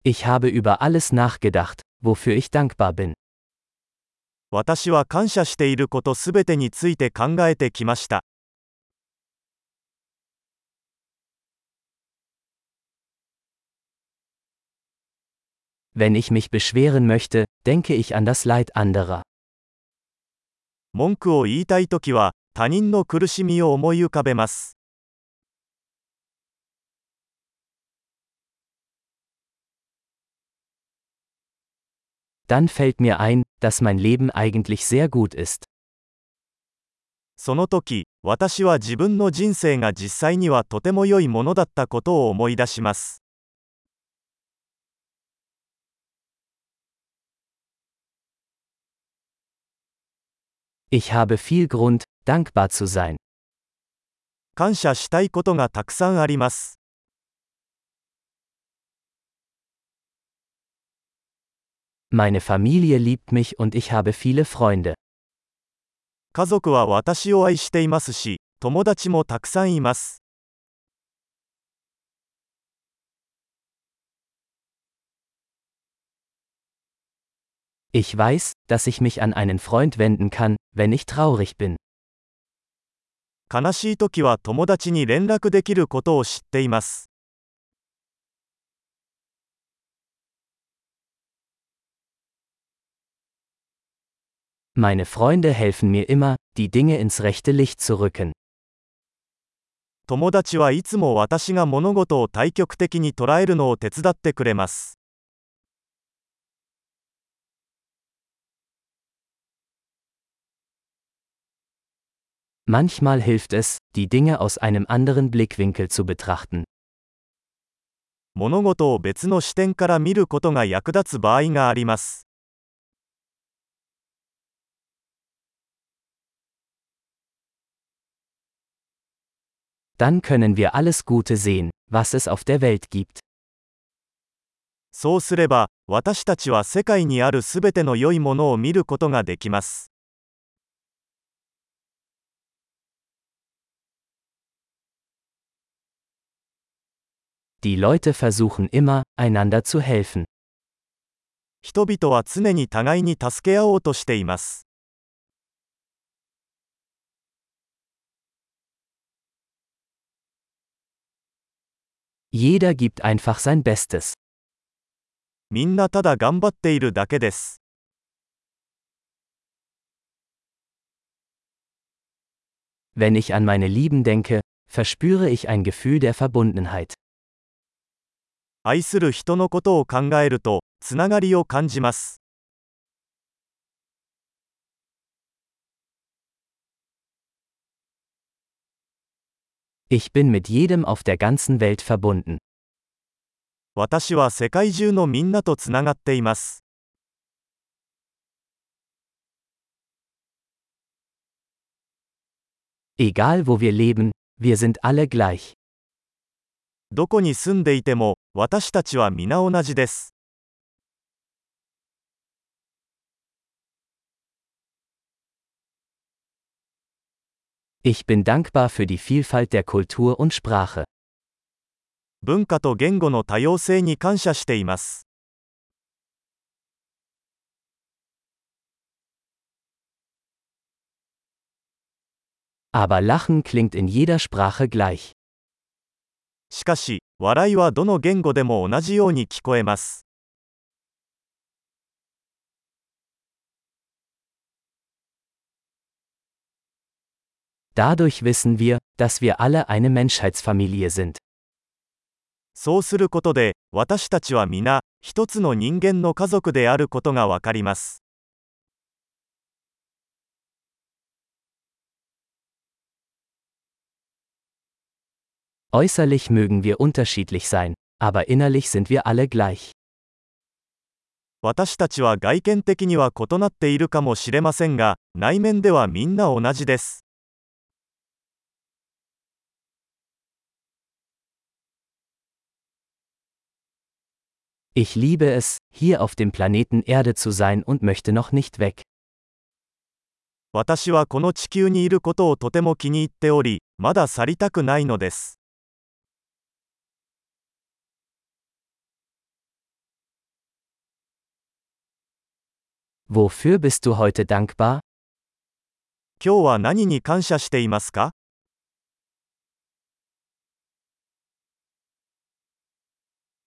Ich habe über alles nachgedacht, wofür ich dankbar bin. 私は感謝していることすべてについて考えてきました。 Wenn ich mich beschweren möchte, denke ich an das Leid anderer. 文句を言いたいときは、他人の苦しみを思い浮かべます。 Dann fällt mir ein, dass mein Leben eigentlich sehr gut ist. その時、私は自分の人生が実際にはとても良いものだったことを思い出します。 Ich habe viel Grund, dankbar zu sein. 感謝したいことがたくさんあります。 Meine Familie liebt mich und ich habe viele Freunde. 家族は私を愛していますし、友達もたくさんいます。 Ich weiß, dass ich mich an einen Freund wenden kann, wenn ich traurig bin. 悲しいときは友達に連絡できることを知っています。 Meine Freunde helfen mir immer, die Dinge ins rechte Licht zu rücken. 友達はいつも私が物事を対極的に捉えるのを手伝ってくれます。 Manchmal hilft es, die Dinge aus einem anderen Blickwinkel zu betrachten. 物事を別の視点から見ることが役立つ場合があります。 Dann können wir alles Gute sehen, was es auf der Welt gibt. そうすれば、私たちは世界にあるすべての良いものを見ることができます。 Die Leute versuchen immer, einander zu helfen. 人々は常に互いに助け合おうとしています。 Jeder gibt einfach sein Bestes. みんなただ頑張っているだけです。 Wenn ich an meine Lieben denke, verspüre ich ein Gefühl der Verbundenheit. 愛する人のことを考えると、つながりを感じます。 Ich bin mit jedem auf der ganzen Welt verbunden. 私は世界中のみんなとつながっています。 Egal wo wir leben, wir sind alle gleich. どこに住んでいても、私たちは皆同じです。 Ich bin dankbar für die Vielfalt der Kultur und Sprache. 文化と言語の多様性に感謝しています。 Aber Lachen klingt in jeder Sprache gleich. しかし、笑いはどの言語でも同じように聞こえます。 Dadurch wissen wir, dass wir alle eine Menschheitsfamilie sind. そうすることで、私たちは皆、一つの人間の家族であることがわかります。 Äußerlich mögen wir unterschiedlich sein, aber innerlich sind wir alle gleich. 私たちは外見的には異なっているかもしれませんが、内面ではみんな同じです。 Ich liebe es, hier auf dem Planeten Erde zu sein und möchte noch nicht weg. 私はこの地球にいることをとても気に入っており、まだ去りたくないのです。 Wofür bist du heute dankbar? 今日は何に感謝していますか？